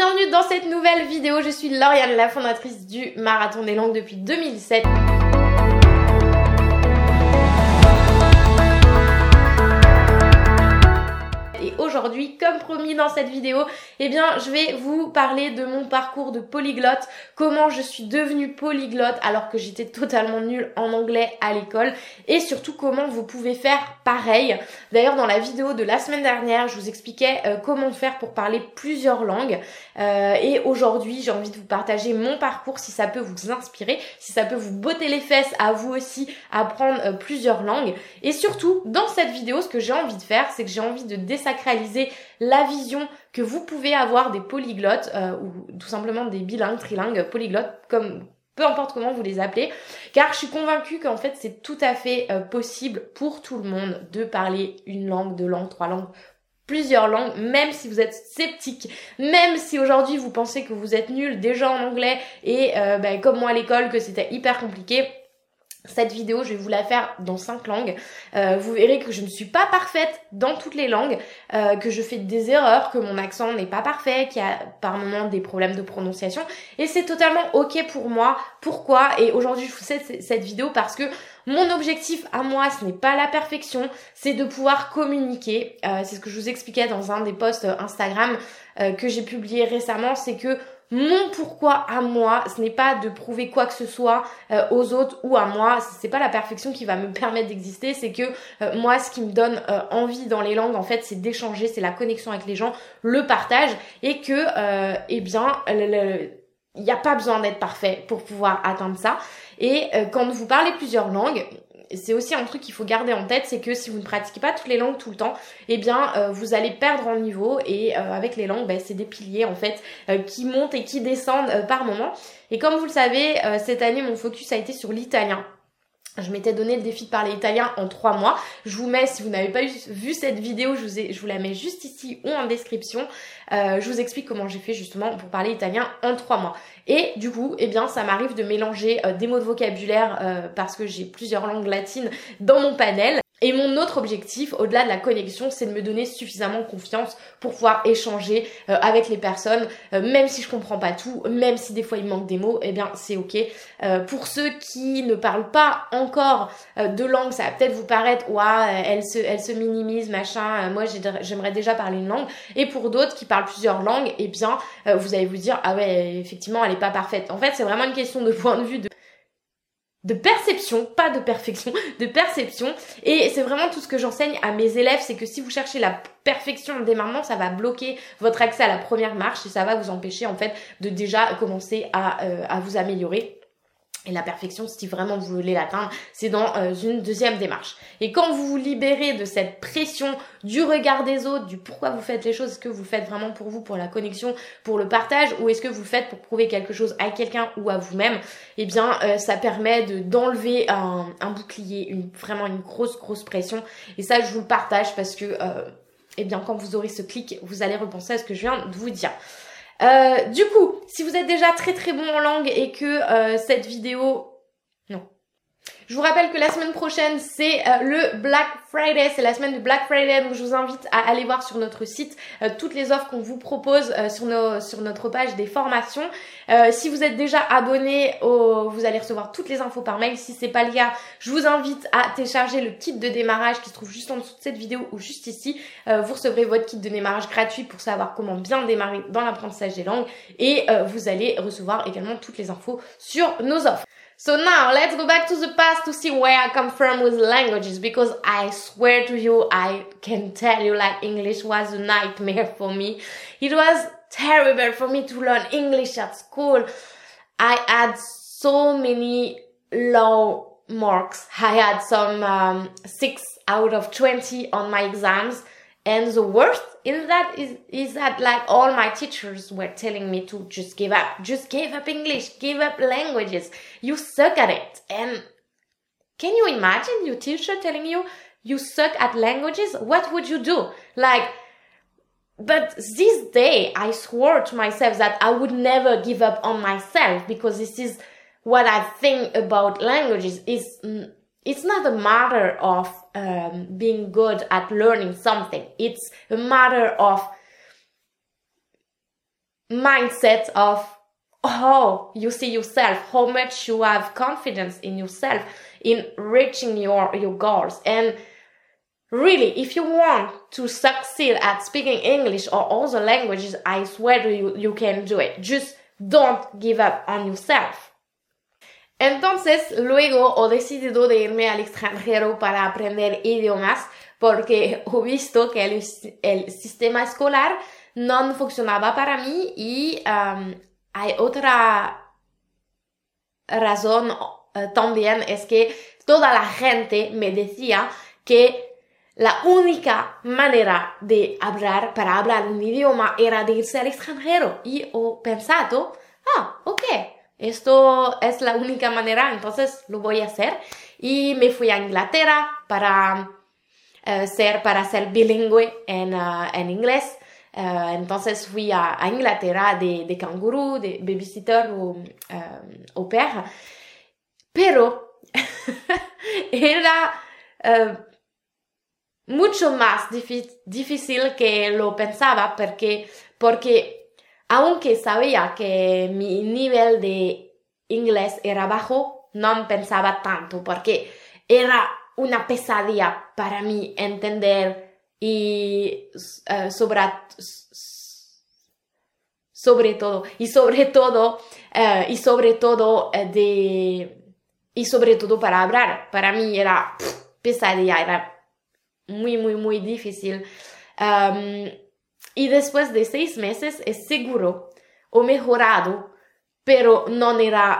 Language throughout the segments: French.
bienvenue dans cette nouvelle vidéo. Je suis Lauriane, la fondatrice du Marathon des Langues depuis 2007. Et aujourd'hui, comme promis dans cette vidéo, je vais vous parler de mon parcours de polyglotte, comment je suis devenue polyglotte alors que j'étais totalement nulle en anglais à l'école et surtout comment vous pouvez faire pareil. D'ailleurs, dans la vidéo de la semaine dernière, je vous expliquais comment faire pour parler plusieurs langues et aujourd'hui, j'ai envie de vous partager mon parcours si ça peut vous inspirer, si ça peut vous botter les fesses à vous aussi apprendre plusieurs langues. Et surtout, dans cette vidéo, ce que j'ai envie de faire, c'est que j'ai envie de désacraliser la vision que vous pouvez avoir des polyglottes ou tout simplement des bilingues, trilingues, polyglottes, comme peu importe comment vous les appelez, car je suis convaincue qu'en fait c'est tout à fait possible pour tout le monde de parler une langue, deux langues, trois langues, plusieurs langues, même si vous êtes sceptique, même si aujourd'hui vous pensez que vous êtes nul déjà en anglais et comme moi à l'école que c'était hyper compliqué. Cette vidéo, je vais vous la faire dans 5 langues. Vous verrez que je ne suis pas parfaite dans toutes les langues, que je fais des erreurs, que mon accent n'est pas parfait, qu'il y a par moments des problèmes de prononciation. Et c'est totalement ok pour moi. Pourquoi? Et aujourd'hui, je vous fais cette vidéo parce que mon objectif à moi, ce n'est pas la perfection, c'est de pouvoir communiquer. C'est ce que je vous expliquais dans un des posts Instagram que j'ai publié récemment, c'est que mon pourquoi à moi, ce n'est pas de prouver quoi que ce soit aux autres ou à moi, c'est pas la perfection qui va me permettre d'exister, c'est que moi ce qui me donne envie dans les langues en fait c'est d'échanger, c'est la connexion avec les gens, le partage et que il n'y a pas besoin d'être parfait pour pouvoir atteindre ça. Et quand vous parlez plusieurs langues, c'est aussi un truc qu'il faut garder en tête, c'est que si vous ne pratiquez pas toutes les langues tout le temps, vous allez perdre en niveau et avec les langues, c'est des piliers en fait qui montent et qui descendent par moment. Et comme vous le savez, cette année mon focus a été sur l'italien. Je m'étais donné le défi de parler italien en 3 mois. Je vous mets, si vous n'avez pas vu cette vidéo, je vous la mets juste ici ou en description. Je vous explique comment j'ai fait justement pour parler italien en 3 mois. Et du coup, ça m'arrive de mélanger des mots de vocabulaire parce que j'ai plusieurs langues latines dans mon panel. Et mon autre objectif, au-delà de la connexion, c'est de me donner suffisamment confiance pour pouvoir échanger avec les personnes, même si je comprends pas tout, même si des fois il manque des mots, c'est ok. Pour ceux qui ne parlent pas encore de langue, ça va peut-être vous paraître, elle se minimise, machin, moi j'aimerais déjà parler une langue. Et pour d'autres qui parlent plusieurs langues, vous allez vous dire, ah ouais, effectivement, elle est pas parfaite. En fait, c'est vraiment une question de point de vue de perception, pas de perfection, de perception. Et c'est vraiment tout ce que j'enseigne à mes élèves, c'est que si vous cherchez la perfection dès maintenant, ça va bloquer votre accès à la première marche et ça va vous empêcher en fait de déjà commencer à vous améliorer. Et la perfection, si vraiment vous voulez l'atteindre, c'est dans une deuxième démarche. Et quand vous vous libérez de cette pression du regard des autres, du pourquoi vous faites les choses, est-ce que vous faites vraiment pour vous, pour la connexion, pour le partage, ou est-ce que vous faites pour prouver quelque chose à quelqu'un ou à vous-même, ça permet d'enlever un bouclier, vraiment une grosse pression. Et ça, je vous le partage parce que, quand vous aurez ce clic, vous allez repenser à ce que je viens de vous dire. Du coup, si vous êtes déjà très bon en langue et que cette vidéo... Non. Je vous rappelle que la semaine prochaine, c'est le Black Friday, c'est la semaine du Black Friday, donc je vous invite à aller voir sur notre site toutes les offres qu'on vous propose sur notre page des formations. Si vous êtes déjà abonné, vous allez recevoir toutes les infos par mail. Si c'est pas le cas, je vous invite à télécharger le kit de démarrage qui se trouve juste en dessous de cette vidéo ou juste ici. Vous recevrez votre kit de démarrage gratuit pour savoir comment bien démarrer dans l'apprentissage des langues et vous allez recevoir également toutes les infos sur nos offres. So now, let's go back to the past to see where I come from with languages, because I swear to you, I can tell you like English was a nightmare for me. It was terrible for me to learn English at school. I had so many low marks. I had some 6 out of 20 on my exams. And the worst in that is that like all my teachers were telling me to just give up English, give up languages, you suck at it. And can you imagine your teacher telling you suck at languages? What would you do? But this day I swore to myself that I would never give up on myself, because this is what I think about languages. It's not a matter of being good at learning something. It's a matter of mindset of how you see yourself, how much you have confidence in yourself, in reaching your goals. And really, if you want to succeed at speaking English or other languages, I swear to you, you can do it. Just don't give up on yourself. Entonces, luego he decidido de irme al extranjero para aprender idiomas porque he visto que el sistema escolar no funcionaba para mí y hay otra razón también, es que toda la gente me decía que la única manera de hablar, para hablar un idioma, era de irse al extranjero. Y he pensado, ok, esto es la única manera, entonces lo voy a hacer. Y me fui a Inglaterra para ser bilingüe en inglés. Entonces fui a Inglaterra de canguro, de babysitter o au pair. Pero era mucho más difícil que lo pensaba porque aunque sabía que mi nivel de inglés era bajo, no pensaba tanto porque era una pesadilla para mí entender y sobre todo para hablar. Para mí era pesadilla, era muy, muy, muy difícil. Y después de 6 meses, es seguro, he mejorado, pero no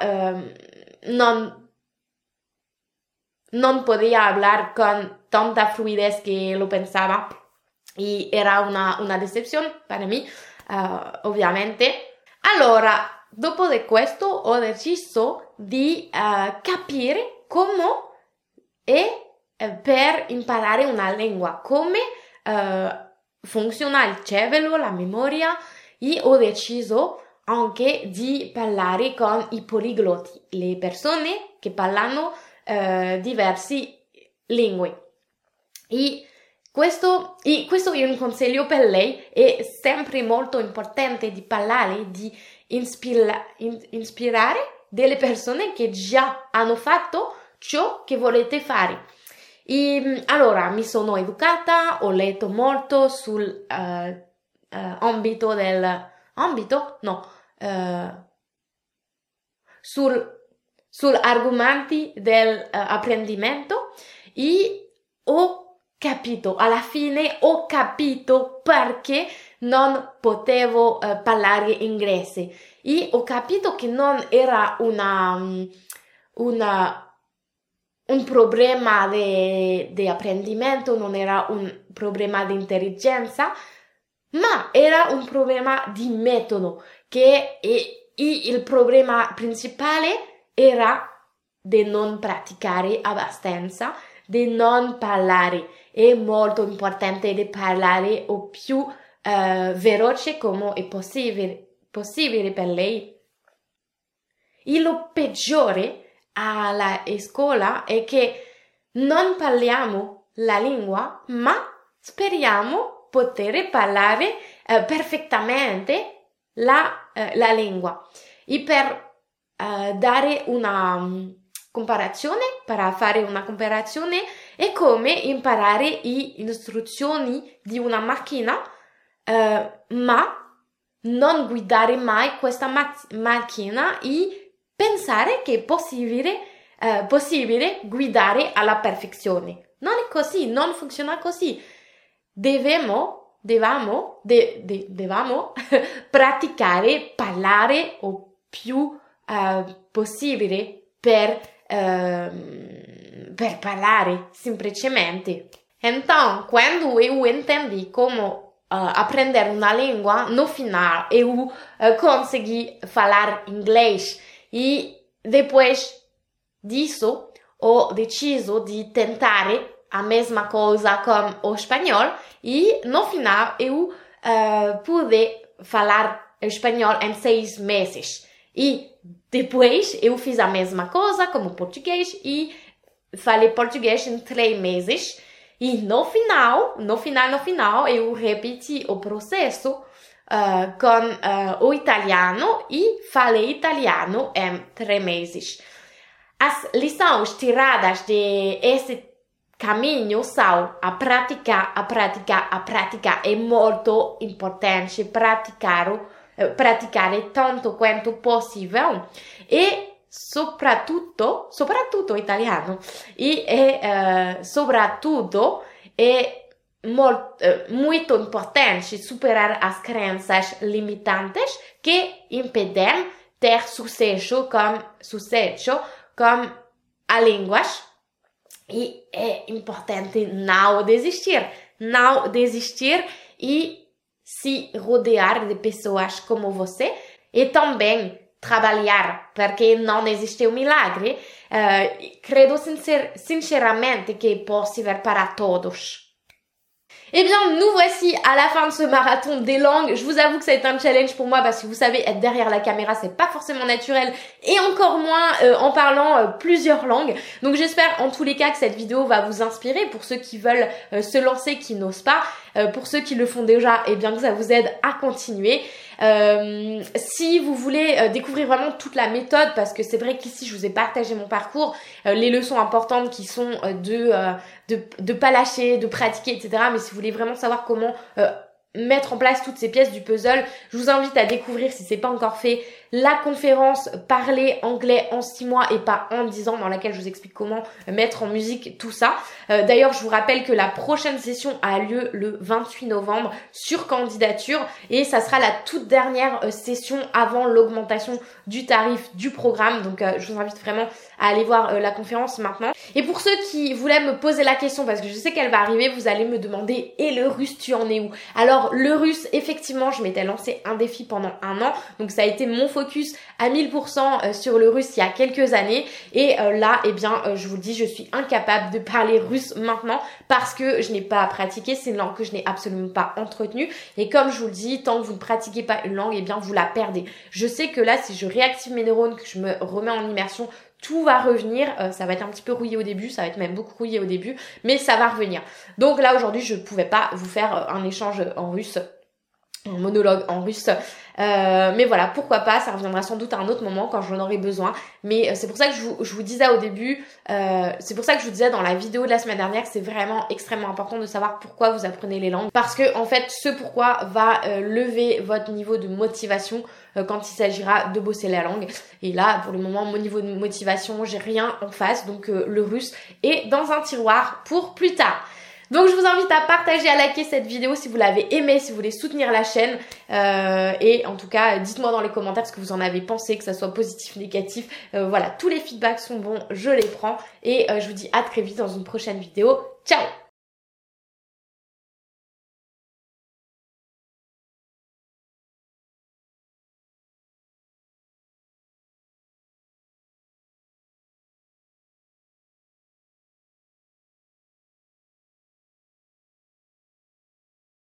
podía hablar con tanta fluidez que lo pensaba. Y era una decepción para mí, ovviamente. Allora, dopo di questo, ho deciso di capire come per imparare una lingua, come funziona il cervello, la memoria, e ho deciso anche di parlare con i poliglotti, le persone che parlano diverse lingue. E questo è un consiglio per lei, è sempre molto importante di parlare, di ispirare delle persone che già hanno fatto ciò che volete fare. E allora mi sono educata, ho letto molto sul sul argomenti dell'apprendimento e alla fine ho capito perché non potevo parlare inglese e ho capito che non era un problema di apprendimento, non era un problema di intelligenza, ma era un problema di metodo, e il problema principale era di non praticare abbastanza, di non parlare. È molto importante di parlare o più veloce come è possibile per lei. E lo peggiore alla scuola è che non parliamo la lingua, ma speriamo poter parlare perfettamente la lingua. E per dare una comparazione, per fare una comparazione, è come imparare le istruzioni di una macchina, ma non guidare mai questa macchina e pensare che è possibile guidare alla perfezione. Non è così, non funziona così. Dobbiamo praticare, parlare o più possibile per parlare semplicemente. Então, quando eu entendi como aprender uma língua, no final eu consegui falar inglês e depois disso ho deciso di tentare a mesma coisa com o espanhol e no final eu pude falar espanhol em 6 meses. E depois eu fiz a mesma coisa como português e falei português em 3 meses. E no final eu repeti o processo o italiano e falei italiano em 3 meses. As lições tiradas de esse caminho são a prática é muito importante, praticare tanto quanto possível e soprattutto italiano soprattutto é muito importante superar as crenças limitantes que impedem ter sucesso com a língua. E é importante não desistir e se rodear de pessoas como você e também trabalhar, porque não existe um milagre. Credo sinceramente que é possível para todos. Eh bien, nous voici à la fin de ce marathon des langues. Je vous avoue que ça a été un challenge pour moi parce que vous savez, être derrière la caméra, c'est pas forcément naturel et encore moins en parlant plusieurs langues. Donc j'espère en tous les cas que cette vidéo va vous inspirer pour ceux qui veulent se lancer, qui n'osent pas. Pour ceux qui le font déjà, eh bien que ça vous aide à continuer. Si vous voulez découvrir vraiment toute la méthode, parce que c'est vrai qu'ici je vous ai partagé mon parcours, les leçons importantes qui sont de pas lâcher, de pratiquer, etc. Mais si vous voulez vraiment savoir comment mettre en place toutes ces pièces du puzzle, je vous invite à découvrir, si c'est pas encore fait, la conférence Parler anglais en 6 mois et pas en 10 ans, dans laquelle je vous explique comment mettre en musique tout ça. D'ailleurs, je vous rappelle que la prochaine session a lieu le 28 novembre sur candidature et ça sera la toute dernière session avant l'augmentation du tarif du programme. Donc, je vous invite vraiment à aller voir la conférence maintenant. Et pour ceux qui voulaient me poser la question, parce que je sais qu'elle va arriver, vous allez me demander « Et le russe, tu en es où ?» Alors, le russe, effectivement, je m'étais lancé un défi pendant 1 an. Donc, ça a été mon focus à 1000% sur le russe il y a quelques années. Et là, eh bien, je vous le dis, je suis incapable de parler russe maintenant parce que je n'ai pas pratiqué. C'est une langue que je n'ai absolument pas entretenue. Et comme je vous le dis, tant que vous ne pratiquez pas une langue, eh bien, vous la perdez. Je sais que là, si je réactive mes neurones, que je me remets en immersion, tout va revenir, ça va être un petit peu rouillé au début, ça va être même beaucoup rouillé au début, mais ça va revenir. Donc là aujourd'hui je pouvais pas vous faire un échange en russe, un monologue en russe, mais voilà, pourquoi pas, ça reviendra sans doute à un autre moment quand j'en aurai besoin, mais c'est pour ça que je vous disais au début, c'est pour ça que je vous disais dans la vidéo de la semaine dernière que c'est vraiment extrêmement important de savoir pourquoi vous apprenez les langues, parce que en fait ce pourquoi va lever votre niveau de motivation quand il s'agira de bosser la langue. Et là, pour le moment, mon niveau de motivation, j'ai rien en face, donc le russe est dans un tiroir pour plus tard. Donc je vous invite à partager, à liker cette vidéo si vous l'avez aimée, si vous voulez soutenir la chaîne. Et en tout cas, dites-moi dans les commentaires ce que vous en avez pensé, que ça soit positif, négatif. Voilà, tous les feedbacks sont bons, je les prends. Et je vous dis à très vite dans une prochaine vidéo. Ciao!